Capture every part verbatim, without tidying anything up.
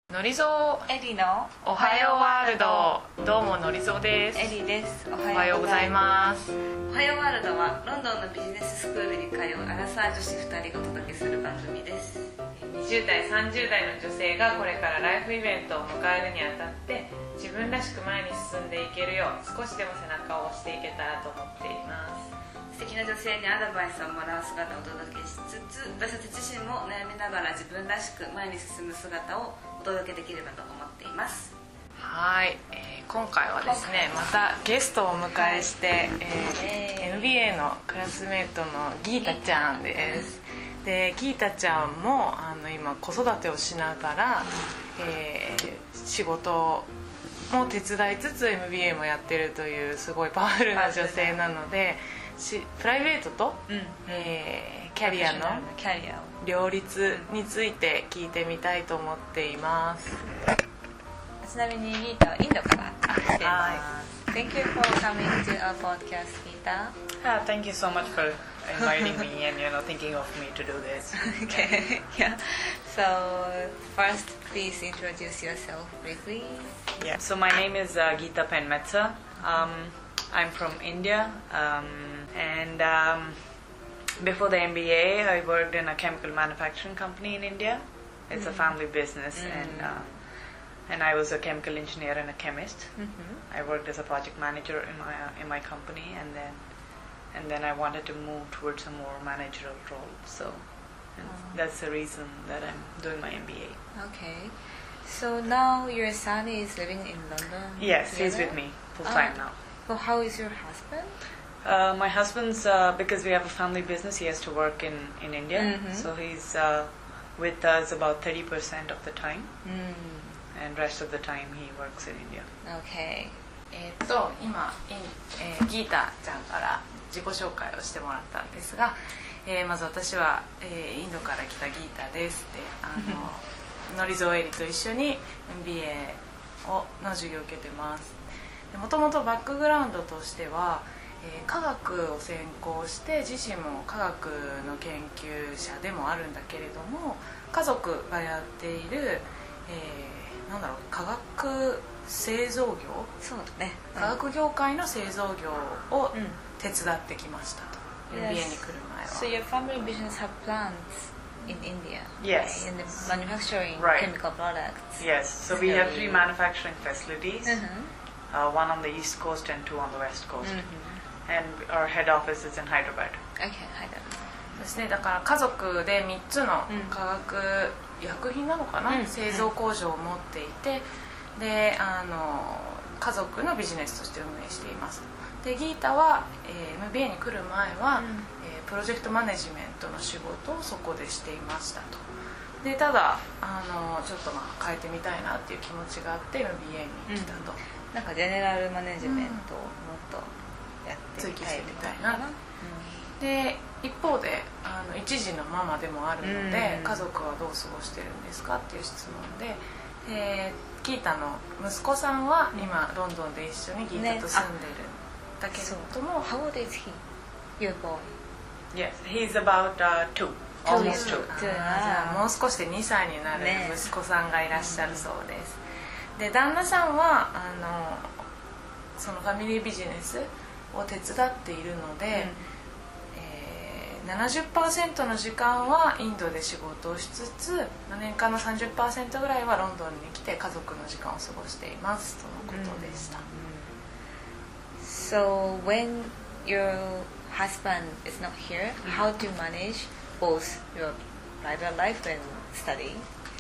のりぞエリのおはようワールド。どうものりぞです。 エリです。 おはようございます。 おはようワールドはロンドンのビジネススクールに通うアラサー女子ふたりがお届けする番組です。 にじゅう代さんじゅう代の女性がこれからライフイベントを迎えるにあたって自分らしく前に進んでいけるよう少しでも背中を押していけたらと思っています。 素敵な女性にアドバイスをもらう姿をお届けしつつ、私たち自身も悩みながら自分らしく前に進む姿をお届けできればと思っています。 はい、えー、今回はですねまたゲストをお迎えして、はい、えー、エムビーエー のクラスメートのギータちゃんです。でギータちゃんもあの今子育てをしながら、えー、仕事も手伝いつつ エムビーエー もやってるというすごいパワフルな女性なので、しプライベートと、うん、えー、キャリアの両立について聞いてみたいと思っています。 ちなみにギータはインドから来ています。Thank you for coming to our podcast, Geeta. Yeah, thank you so much for inviting me and you know thinking of me to do this. Okay, yeah. So first, please introduce yourself briefly. Yeah. So my name is uh, Geeta Penmetsa. Um, I'm from India, um, and um, before the M B A, I worked in a chemical manufacturing company in India. It's mm-hmm. a family business, mm-hmm. and uh, and I was a chemical engineer and a chemist. Mm-hmm. I worked as a project manager in my uh, in my company, and then and then I wanted to move towards a more managerial role. So and oh. that's the reason that I'm doing my M B A. Okay. So now your son is living in London? Yes, together? he's with me full time oh. now. So how is your husband? Uh, my husband's, uh, because we have a family business, he has to work in, in India. Mm-hmm. So he's uh, with us about thirty percent of the time. Mm. And rest of the time he works in India. Okay. えっと今、えー、ギータちゃんから自己紹介をしてもらったんですが、えー、まず私は、えー、インドから来たギータですで、あののりぞえりと一緒に エムビーエー をの授業を受けてます。もともとバックグラウンドとしては、えー、科学を専攻して自身も科学の研究者でもあるんだけれども、家族がやっている、えー、なんだろう科学製造業、 そうだね、 科学業界の製造業を手伝ってきましたと、うん、エムビーエー に来る前は。 So your family business have plants in India? Yes. Right? In the manufacturing right. chemical products? Yes. So we have three manufacturing facilities. Mm-hmm. Uh, one on the east coast and two on the west coast, mm-hmm. and our head office is in Hyderabad. Okay, Hyderabad. ですね、だから家族でみっつの化学薬品なのかな、うん、製造工場を持っていて、であの家族のビジネスとして運営しています。でギータは、えー、エムビーエー に来る前は、うんえー、プロジェクトマネジメントの仕事をそこでしていましたと。でただあのちょっとまあ変えてみたいなっていう気持ちがあって エムビーエー に来たと。うんなんかジェネラルマネジメントをもっとやってみたいみたいな、うん、 で一方であの一児のママでもあるので、うん、家族はどう過ごしてるんですかっていう質問で、えー、ギータの息子さんは今、うん、ロンドンで一緒にギータと住んでるんだけれども、 ね、How old is he? Your boy? Yes, he's about、uh, two. Almost two. じゃあもう少しでにさいになる息子さんがいらっしゃるそうです、ねで旦那さんはあのそのファミリービジネスを手伝っているので、うんえー、ななじゅっパーセント の時間はインドで仕事をしつつ年間の さんじゅっパーセント ぐらいはロンドンに来て家族の時間を過ごしていますとのことでした、 うん、So when your husband is not here, how do you manage both your private life and study?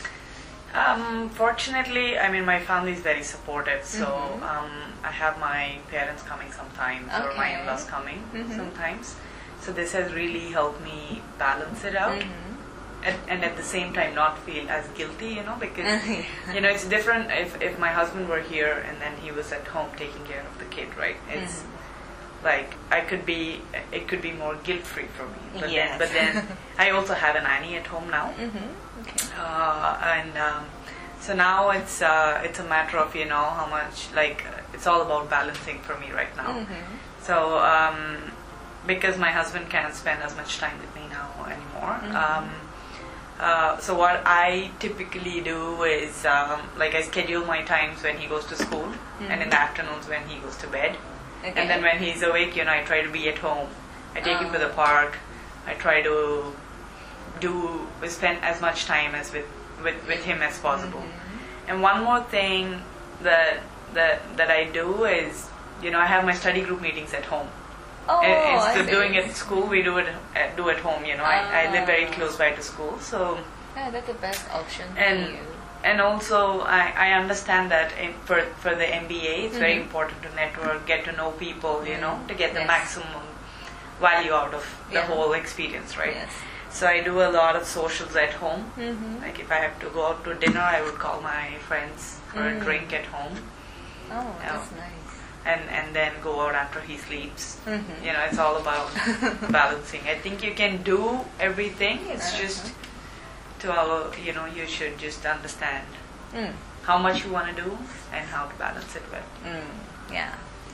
Um, fortunately, I mean, my family is very supportive, so mm-hmm. um, I have my parents coming sometimes okay. or my in-laws coming mm-hmm. sometimes. So this has really helped me balance it out mm-hmm. and, and at the same time not feel as guilty, you know, because, you know, it's different if, if my husband were here and then he was at home taking care of the kid, right? It's mm-hmm. like I could be, it could be more guilt-free for me. But, yes. then, but then I also have a nanny at home now. Mm-hmm. Okay. Uh, and um, so now it's uh, it's a matter of you know how much like it's all about balancing for me right now. Mm-hmm. So um, because my husband can't spend as much time with me now anymore, mm-hmm. um, Uh, so what I typically do is um, like I schedule my times when he goes to school mm-hmm. and in the afternoons when he goes to bed. Okay. And then when he's awake, you know, I try to be at home. I take oh. him to the park. I try to do spend as much time as with with, with him as possible. Mm-hmm. And one more thing that that that I do is, you know, I have my study group meetings at home. Oh, instead of doing it at school, we do it uh, do at home. You know, ah. I, I live very close by to school, so yeah, that's the best option and, for you. And also, I, I understand that in, for for the M B A, it's mm-hmm. very important to network, get to know people, you know, to get the yes. maximum value out of the yeah. whole experience, right? Yes. So I do a lot of socials at home. Mm-hmm. Like if I have to go out to dinner, I would call my friends for mm. a drink at home. Oh, that's nice. And and then go out after he sleeps. Mm-hmm. You know, it's all about balancing. I think you can do everything. It's uh-huh. just to our, you know, you should just understand mm. how much you want to do and how to balance it well. Mm. Yeah.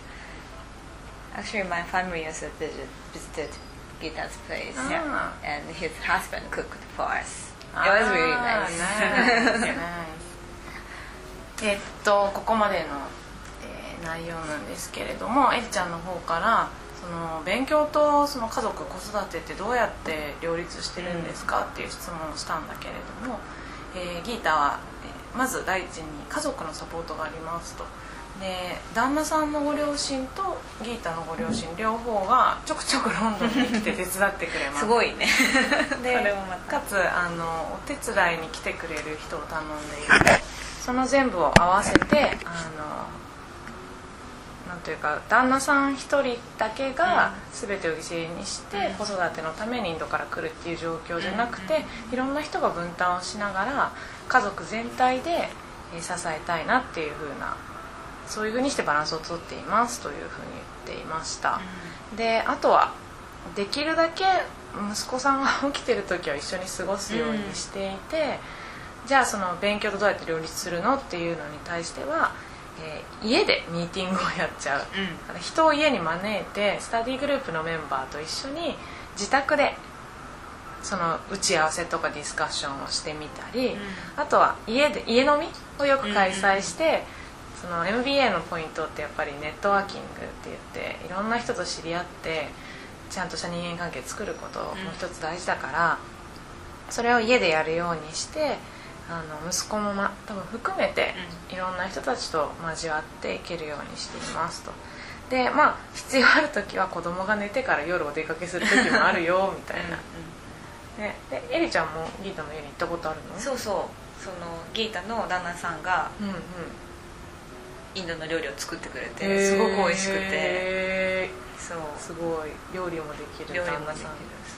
Actually, my family also visit, visited Gita's place, ah. yeah. and his husband cooked for us. It was really nice. nice. nice. えっとここまでの内容なんですけれども、エリちゃんの方からその勉強とその家族子育てってどうやって両立してるんですかっていう質問をしたんだけれども、えー、ギータは、えー、まず第一に家族のサポートがありますと。で旦那さんのご両親とギータのご両親両方がちょくちょくロンドンに来て手伝ってくれます。 すごいね。 でかつあのお手伝いに来てくれる人を頼んでいて、その全部を合わせてあのなんというか旦那さん一人だけが全てを犠牲にして子育てのためにインドから来るっていう状況じゃなくて、いろんな人が分担をしながら家族全体で支えたいなっていう風な、そういう風にしてバランスをとっていますという風に言っていました。であとはできるだけ息子さんが起きてる時は一緒に過ごすようにしていて、じゃあその勉強とどうやって両立するのっていうのに対しては、えー、家でミーティングをやっちゃう、うん、人を家に招いてスタディグループのメンバーと一緒に自宅でその打ち合わせとかディスカッションをしてみたり、うん、あとは家で家飲みをよく開催して、うん、その エムビーエー のポイントってやっぱりネットワーキングって言っていろんな人と知り合ってちゃんとした人間関係作ることも一つ大事だから、うん、それを家でやるようにしてあの息子も、ま、多分含めていろんな人たちと交わっていけるようにしていますと。でまあ必要ある時は子供が寝てから夜お出かけする時もあるよみたいなうん、ね、でエリちゃんもギータの家に行ったことあるの？ そうそうそのギータの旦那さんが、うんうん、インドの料理を作ってくれてすごく美味しくて、そうすごい料理もできる料理もできる。そう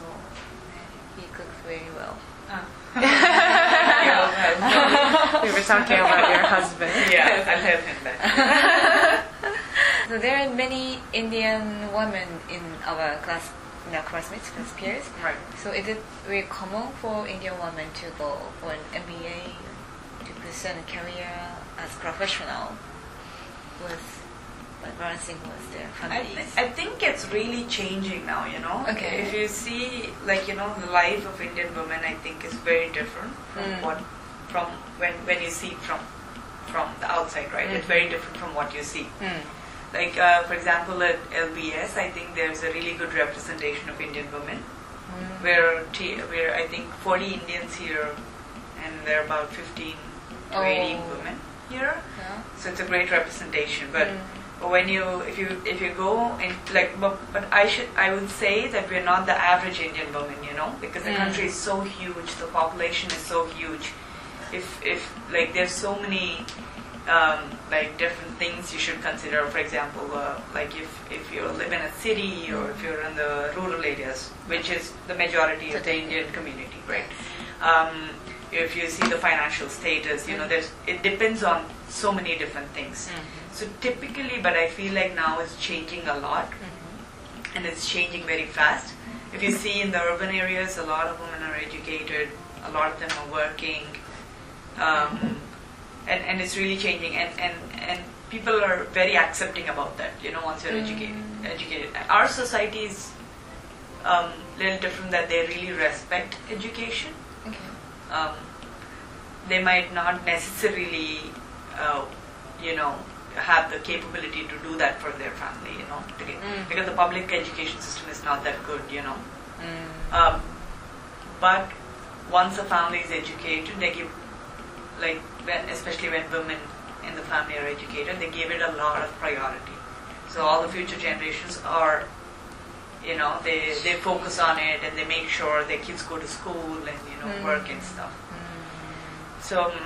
He cooks very well. We were talking about your husband. Yeah, I'll tell him that. So there are many Indian women in our class, in our classmates, class peers. Right. So is it very common for Indian women to go for an M B A to pursue a career as professional with balancing with their families? I, th- I think it's really changing now, you know. Okay. If you see, like, you know, the life of Indian women, I think is very different from mm. what, from when, when you see from from the outside, right? Mm. It's very different from what you see. Mm. Like, uh, for example, at L B S, I think there's a really good representation of Indian women, mm. where t- where I think forty Indians here, and there are about fifteen to eighteen oh. women here. Yeah. So it's a great representation, but. Mm. But when you, if you, if you go and like, but, but I should, I would say that we're not the average Indian woman, you know, because the mm. country is so huge, the population is so huge. If, if like, there's so many, um, like different things you should consider. For example, uh, like if if you live in a city or if you're in the rural areas, which is the majority of the Indian community, right? Um, if you see the financial status, you know, there's it depends on so many different things. Mm-hmm. So typically, but I feel like now it's changing a lot, mm-hmm. and it's changing very fast. If you see in the urban areas, a lot of women are educated, a lot of them are working, um, and, and it's really changing, and, and, and people are very accepting about that, you know, once you're mm-hmm. educated, educated. Our society is um, a little different, that they really respect education. Okay. um, they might not necessarily, uh, you know, have the capability to do that for their family, you know, Mm. because the public education system is not that good, you know. Mm. Um, but once a family is educated, they give, like, when, especially when women in the family are educated, they give it a lot of priority. So all the future generations are, you know, they, they focus on it and they make sure their kids go to school and, you know, Mm. work and stuff. So, um,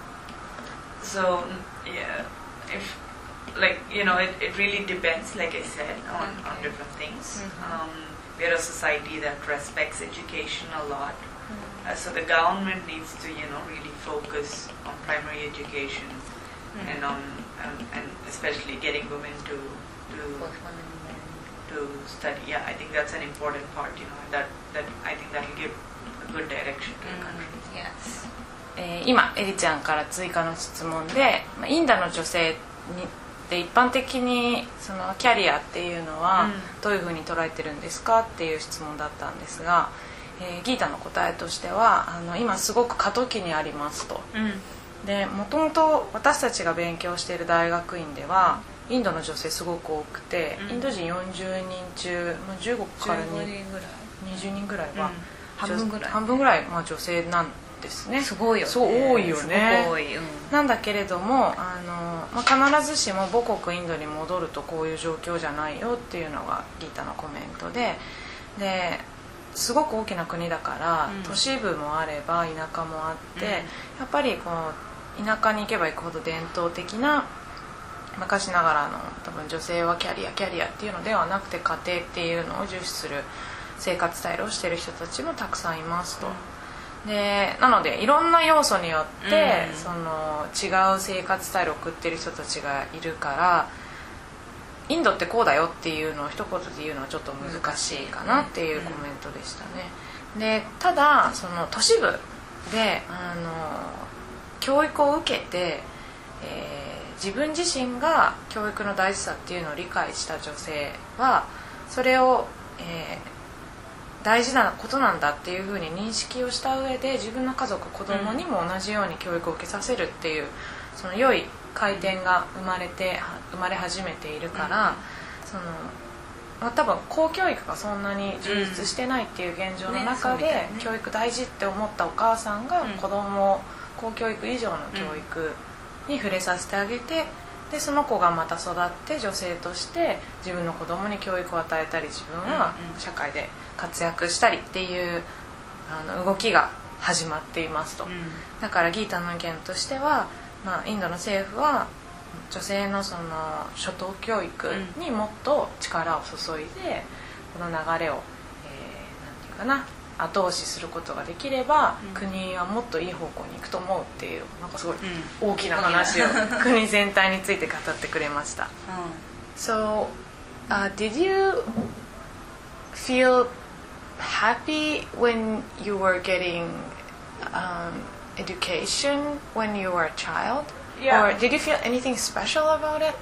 so yeah, if, like, you know, it, it really depends, like I said, on, on Okay. different things. Mhm. Um, we're a society that respects education a lot. Mm. Uh, so the government needs to, you know, really focus on primary education Mm. and on and, and especially getting women to to Both women and men. to study. Yeah, I think that's an important part. You know, that that I think that will give a good direction to the country. Mm. Yes. えー今エリちゃんから追加の質問で、まあインドの女性にで一般的にそのキャリアっていうのはうんどういうふうに捉えてるんですかっていう質問だったんですが、えーギータの答えとしてはあの今すごく過渡期にありますと。でもともと私たちが勉強している大学院ではインドの女性すごく多くて、 うんインド人よんじゅうにん中、まあ、じゅうごからじゅうごににんぐらい。 にじゅうにんぐらいは、 うん半分ぐらい半分ぐらい、まあ、女性なんですね。 すごいよね。 そう多いよねすごく多い。うん。 なんだけれどもあの、まあ、必ずしも母国インドに戻るとこういう状況じゃないよっていうのがギータのコメントで、ですごく大きな国だから、 うん都市部もあれば田舎もあって、 うんやっぱりこう田舎に行けば行くほど伝統的な昔ながらの多分女性はキャリアキャリアっていうのではなくて家庭っていうのを重視する生活スタイルをしている人たちもたくさんいますと。でなのでいろんな要素によって、 うんその違う生活スタイルを送ってる人たちがいるからインドってこうだよっていうのを一言で言うのはちょっと難しいかなっていうコメントでしたね。でただその都市部であの教育を受けて、えー自分自身が教育の大事さっていうのを理解した女性はそれを、えー大事なことなんだっていうふうに認識をした上で自分の家族子供にも同じように教育を受けさせるっていうその良い回転が生まれて生まれ始めているから、そのまあ、多分公教育がそんなに充実してないっていう現状の中で、 ねそうみたいね教育大事って思ったお母さんがうん子供を公教育以上の教育に触れさせてあげて、でその子がまた育って女性として自分の子供に教育を与えたり自分はうんうん社会で活躍したりっていうあの動きが始まっていますと。だからギータの意見としては、まあ、インドの政府は女性のその初等教育にもっと力を注いでこの流れを、えー、なんていうかな後押しすることができれば、 うん国はもっといい方向に行くと思うっていうなんかすごいうん大きな話を国全体について語ってくれました。So, uh, did you feel happy when you were getting um, education when you were a child? Yeah. Or did you feel anything special about it?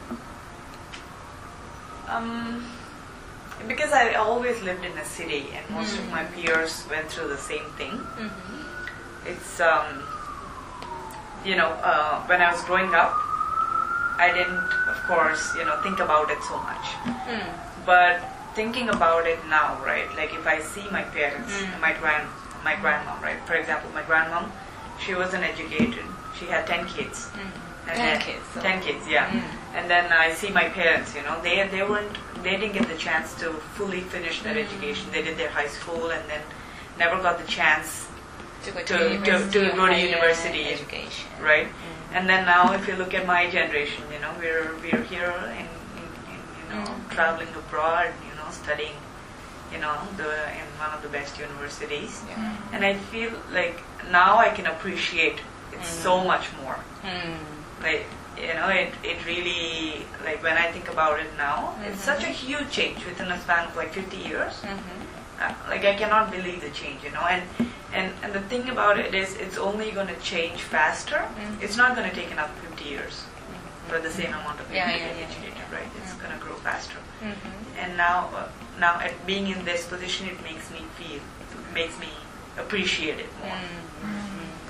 Um, because I always lived in a city and most of my peers went through the same thing. It's, um, you know, uh, when I was growing up, I didn't, of course, you know, think about it so much. But thinking about it now, right? Like if I see my parents, Mm. my grand, my grandmom, right? For example, my grandmom, she wasn't educated. She had ten kids. And Ten then- kids, so- Ten kids, yeah. Mm. And then I see my parents. You know, they they weren't, they didn't get the chance to fully finish their Mm. education. They did their high school and then never got the chance, To go to, To- to- university to or go to higher university. education. right? And then now, if you look at my generation, you know, we're we're here in, in, in you know Mm. traveling abroad, you know, studying, you know, the in one of the best universities. Yeah. And I feel like now I can appreciate it so much more. Mm. Like, you know, it, it really, like when I think about it now, it's Mhm. such a huge change within a span of like fifty years. Mhm. Uh, like I cannot believe the change, you know. And and, and the thing about it is it's only going to change faster. Mhm. It's not going to take another fifty years for the same amount of people Yeah, to yeah, get yeah, educated, right? It's Mhm. going to grow faster. Mhm. And now, uh, now at being in this position, it makes me feel, it makes me appreciate it more. Mm.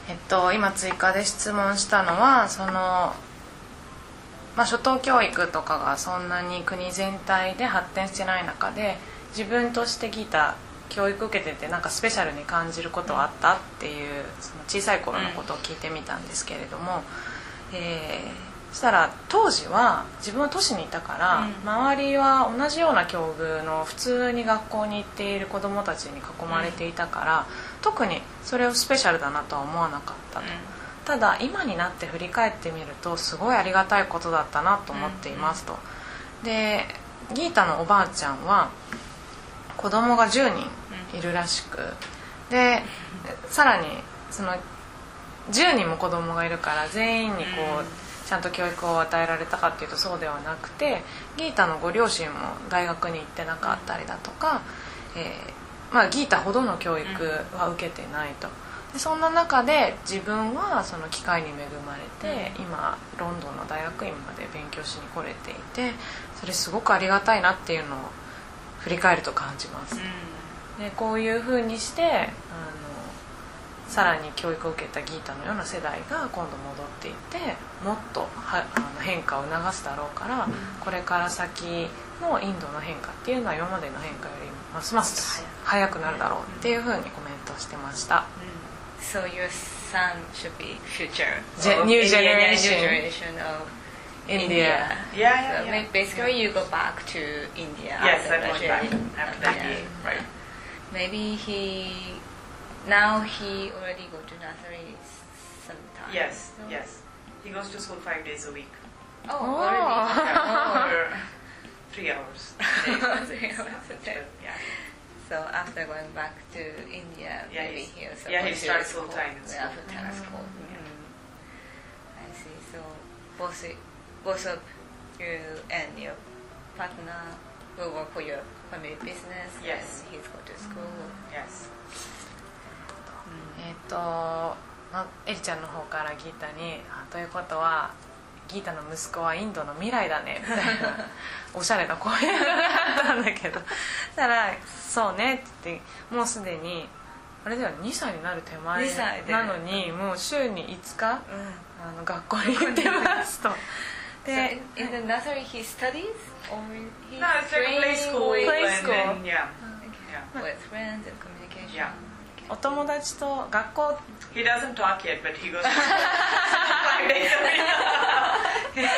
えっと、今追加で質問したのはその、まあ、初等教育とかがそんなに国全体で発展してない中で自分としてギター教育受けててなんかスペシャルに感じることはあったっていうその小さい頃のことを聞いてみたんですけれども、えーそしたら当時は自分は都市にいたから、うん、周りは同じような境遇の普通に学校に行っている子どもたちに囲まれていたから、うん、特にそれをスペシャルだなとは思わなかったと、うん、ただ今になって振り返ってみるとすごいありがたいことだったなと思っていますと、うん、でギータのおばあちゃんは子供がじゅうにんいるらしく、でさらにそのじゅうにんも子供がいるから全員にこう、うんちゃんと教育を与えられたかっていうとそうではなくて、ギータのご両親も大学に行ってなかったりだとか、えーまあ、ギータほどの教育は受けてないと。でそんな中で自分はその機会に恵まれて今ロンドンの大学院まで勉強しに来れていて、それすごくありがたいなっていうのを振り返ると感じます。でこういうふうにしてあのさらに教育を受けたギータのような世代が今度戻っていってもっとはあの変化を促すだろうから、うん、これから先のインドの変化っていうのは今までの変化よりますます早くなるだろうっていうふうにコメントしてました、 うん、So your son should be future Gen- new generation, new generation of India. India. Yeah, yeah, so yeah. Basically you go back to India. Yes, I'm going back after that year, right. Maybe he Now he already go to nursery sometimes. Yes, so. yes. He goes to school five days a week. Oh, oh. already? Yeah, for three hours. three hours a day. Yeah. So after going back to India, yeah, maybe he'll start yeah, he starts full time in school. Yeah, full time mm-hmm. school. Mm-hmm. I see. So both both of you and your partner will work for your family business. Yes. And he's go to school. Mm-hmm. Yes. えっとまあ、エリちゃんの方からギータにということはギータの息子はインドの未来だねみたいなおしゃれな声があったんだけどそしたらそうねって言ってもうすでにあれだよにさいになる手前なのにもう週にいつか、うん、あの学校に行ってますとで So in, in the nursery he studies or he No, it's like a play school, play school. And then, yeah. Yeah. With friends and communication. Yeah. お友達と学校 He doesn't talk yet, but he goes to five days a week.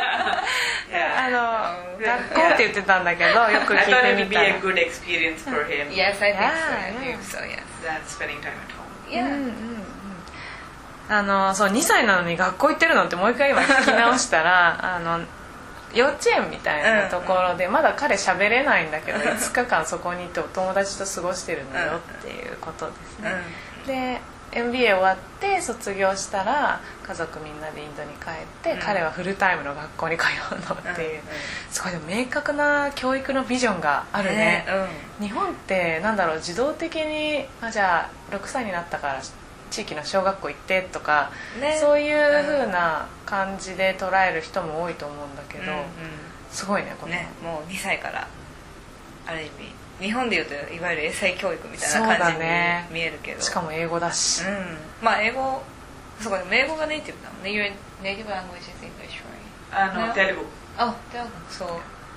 Yeah. あの学校って言ってたんだけどよく聞いてみたら I thought it would be a good experience for him. Yes, I think Yeah, so. I yeah. think so, yes. Than spending time at home. Yeah. うんうんうんあのそうにさいなのに学校行ってるのってもう一回今聞き直したらあの幼稚園みたいなところでまだ彼喋れないんだけどいつかかんそこに行ってお友達と過ごしてるのよっていうことですね、うん、で エムビーエー 終わって卒業したら家族みんなでインドに帰って、うん、彼はフルタイムの学校に通うのっていう、うん、すごい明確な教育のビジョンがあるね、うん、日本ってなんだろう自動的にあじゃあろくさいになったから地域の小学校行ってとか、ね、そういう風な感じで捉える人も多いと思うんだけど、うんうん、すごいねこのねもうにさいからある意味日本でいうといわゆる英才教育みたいな感じに見えるけど、 ね、しかも英語だし、うん、 まあ英語そうか英語がネイティブなのね Your native language is English, right? あの、テルグ Oh, Telugu. So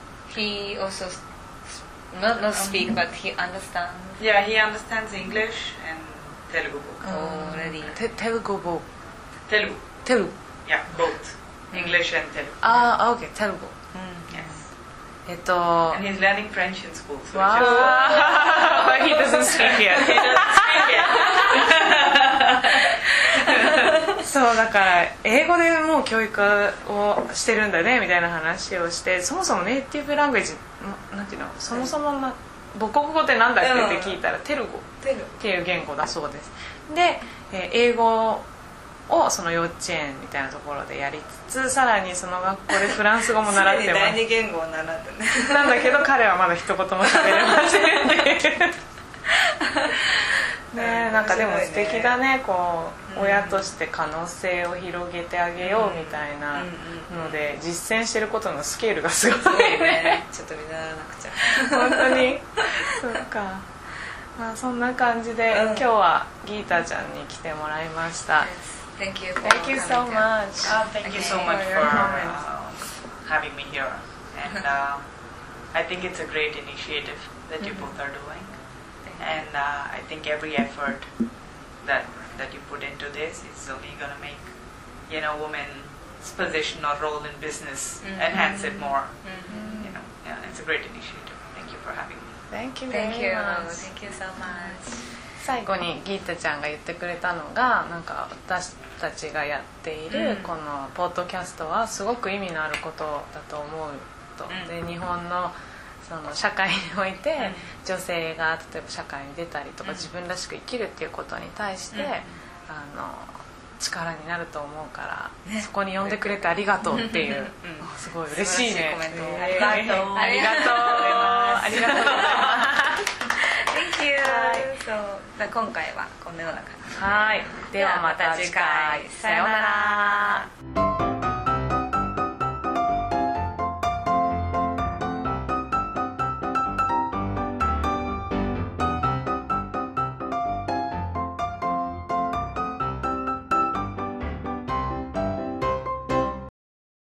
he also not, not speak but he understands Yeah, he understands English and Telugu book. Already. Te- Telugu book. Telugu. Telugu. Yeah, both. English and Telugu. Ah, okay, Telugu. Mm. Yes. えっと And he's learning French in school. So wow. But he doesn't speak yet. He doesn't speak yet. そうだから英語でもう教育をしてるんだねみたいな話をしてそもそもネイティブラングエージなんていうのそもそもな母国語ってなんだっけって聞いたらテル語っていう言語だそうですで、えー、英語をその幼稚園みたいなところでやりつつさらにその学校でフランス語も習ってます第二言語を習ってねなんだけど彼はまだ一言も喋れませんっていうねなんかでも素敵だねこう、うん、親として可能性を広げてあげようみたいなので実践してることのスケールがすごいねちょっと見習わなくちゃ本当にそうかまあそんな感じで、 うん、 今日はギータちゃんに来てもらいました。 Yes. Thank you. For Thank you so much. Uh, thank you so much for uh, having me here, and uh, I think it's a great initiative that you both are doing, and uh, I think every effort that that you put into this is only going to make, you know, women's position or role in business mm-hmm. enhance it more. Mm-hmm. You know, yeah, it's a great initiative. Thank you for having me. Thank you Thank very you. much. Thank you so much. 最後にギータちゃんが言ってくれたのが、なんか私たちがやっているこのポッドキャストはすごく意味のあることだと思うと、うん、で日本のその社会において女性が例えば社会に出たりとか自分らしく生きるっていうことに対して、うん、あの力になると思うから、ね、そこに呼んでくれてありがとうっていう、うん、すごい嬉しいね。 コメント、 えー、ありがとうありがとうありがとうございます。 Thank you. So, 今回はこのような感じで。 はい。ではまた次回。さようなら。